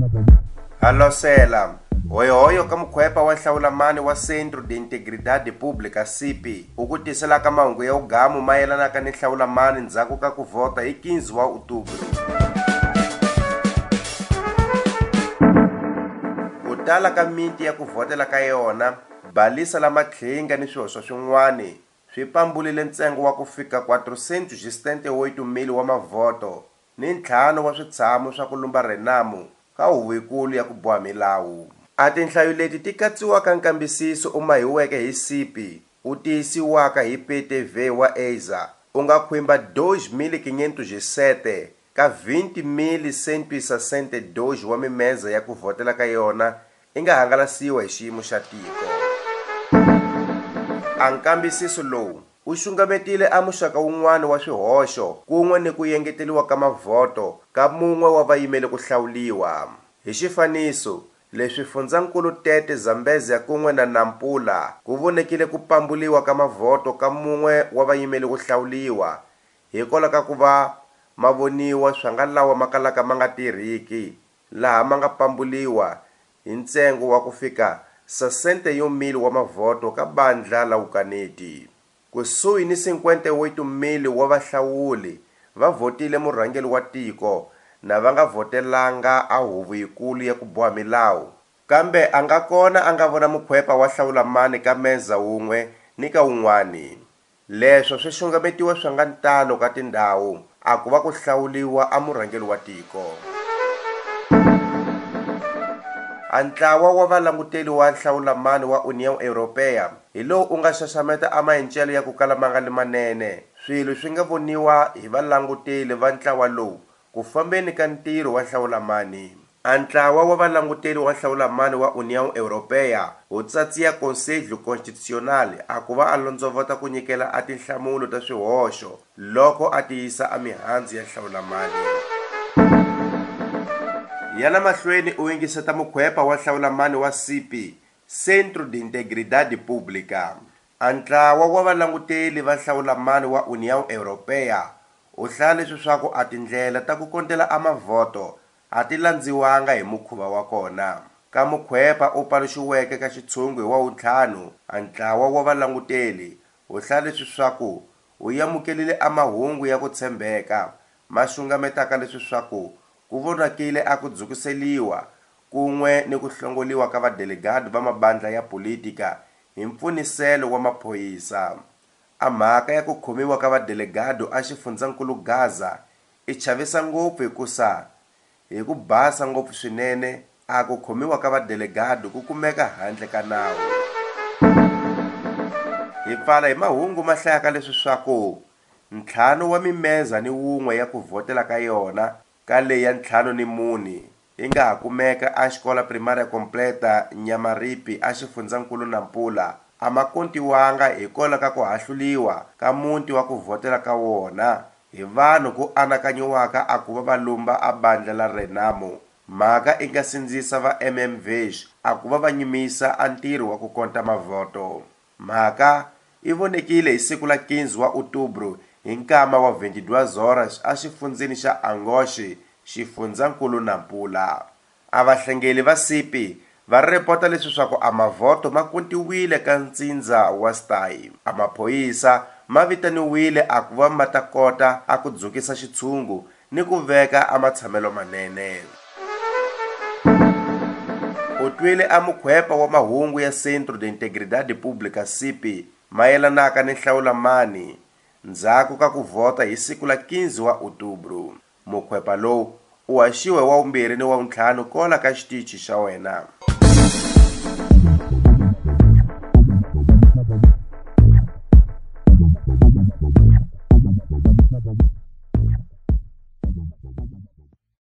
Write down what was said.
Halosela, hoyo ka mukhwepa wa nhlawulamani wa Centro de Integridade Pública CIP u tisela ka mahungu ya ugamu mayelana ka ni nhlawulamani ndzhaku ka ku vhota hi 15 wa Outubro. Ku tala ka miti ya ku vhotela ka yona, balisa la matlhinga ni swihoxo swin'wani swi pambulile ntsengo wa ku fika 468,000 wa mavoto ni ntlhanu wa switshamo swa ku lumba renamu ka Huvonkulu ya ku boha milawu. A tinhlayo leti ti katsiwaka nkambisiso u mahiweke hi CIP u tiyisiwaka hi PTV wa ASA u nga khwimba 2.507 ka 20.162 wa mimeza ya ku vhotela ka yona i nga hangalasiwa hi xiyimo xa tiko. A nkambisiso lowu u xungametile a muxaka wun'wana wa swihoxo kun'we ni ku yengeteliwa ka mavoto ka mun'we wa vayimeli ku hlawuliwa. Hi xifaniso, leswi Fundzankulu Tete Zambezia kun'we na Nampula ku vonekile ku pambuliwa ka mavoto ka mun'we wa vayimeli ku hlawuliwa hikwalaho ka ku va ma voniwa swa nga lawa ma kalaka ma nga tirhiki, laha ma nga pambuliwa hi ntsengo wa ku fika 61,000 wa mavoto ka bandla la Vukaneti. Kusuhi ni 58,000 wa vahlawuli va vhotile murhangeri wa tiko na va nga vhotelanga a Huvonkulu ya ku boha milawu, kambe a nga kona a nga vona mukhwepa wa nhlawulamani ka meza wun'we ni ka wun'wani. Leswo swi xungametiwa swa nga ntalo ka tindhawu a ku va ku hlawuliwa a murhangeri wa tiko. A ntlawa wa valanguteli wa nhlawulamani wa União Europeia hi lowu u nga xaxameta a maendlelo ya ku kala ma nga manene swilo swi nga voniwa hi valanguteli va ntlawa lowu ku fambeni ka ntirho wa nhlawulamani. A ntlawa wa valanguteli wa nhlawulamani wa União Europeia wu tsatsiya Conselho Constitucional a ku va a londzovota ku nyikela a tinhlamulo ta swihoxo loko a tiyisa a mihandzu ya nhlawulamani. Yana mahlweni u yingiseta mukhwepa wa nhlawulamani wa CIP, Centro de Integridade Pública. A ntlawa wa valanguteli va nhlawulamani wa União Europeia u hlaya leswi swaku a tindlela ta ku kontela a mavoto a ti landziwanga hi mukhuva wa kona. Ka mukhwepa u paluxiweke ka xitshungu hi wa wuntlhanu, a ntlawa wa valanguteli u hlaya leswi swaku u yamukelile a mahungu ya ku tshembeka ma xungametaka leswi swaku ku vonakile a ku dzukiseliwa kun'we ni ku hlongoliwa ka vadelegati va mabandla ya politika hi mpfuniselo wa maphoyisa. A mhaka ya ku khomiwa ka vadelegati a xifundzankulu Gaza i chavisa ngopfu hikusa hi ku basa ngopfu swinene a ku khomiwa ka vadelegati ku kumeka handle ka nawu. Hi pfala hi mahungu ma hlayaka leswi swaku ntlhanu wa mimeza ni wun'we ya ku vhotela ka yona ka leyi ya 54 yi nga ha kumeka a xikola primaria completa Nyamaripi a xifundzankulu Nampula a ma kontiwanga hikwalaho ka ku hahluliwa ka muti wa ku vhotela ka wona hi vanhu ku anakanyiwaka a ku va va lumba a bandla la Renamo. Mhaka i nga sindzisa va MMVH a ku va va nyimisa a ntirho wa ku konta mavoto. Mhaka i vonekile hi siku la 15 wa Outubro hi nkama wa 22 horas a xifundzeni xa Angoche, xifundzankulu Nampula. A vahlengeli va CIP va repota leswi swaku a mavoto ma kontiwile ka ntsindza wa Stay. A maphoyisa ma vitaniwile a ku va ma ta kota a ku dzukisa xitshungu ni ku veka a matshamelo manene. U twile a mukhwepa wa mahungu ya Centro de Integridade Pública CIP mayelanaka ni nhlawulamani ndzhaku ka ku vhota hi siku la 15 wa Outubro. Mukhwepa lowu u haxiwe wa vumbirhi ni wa vuntlhanu kola ka xitichi xa wena.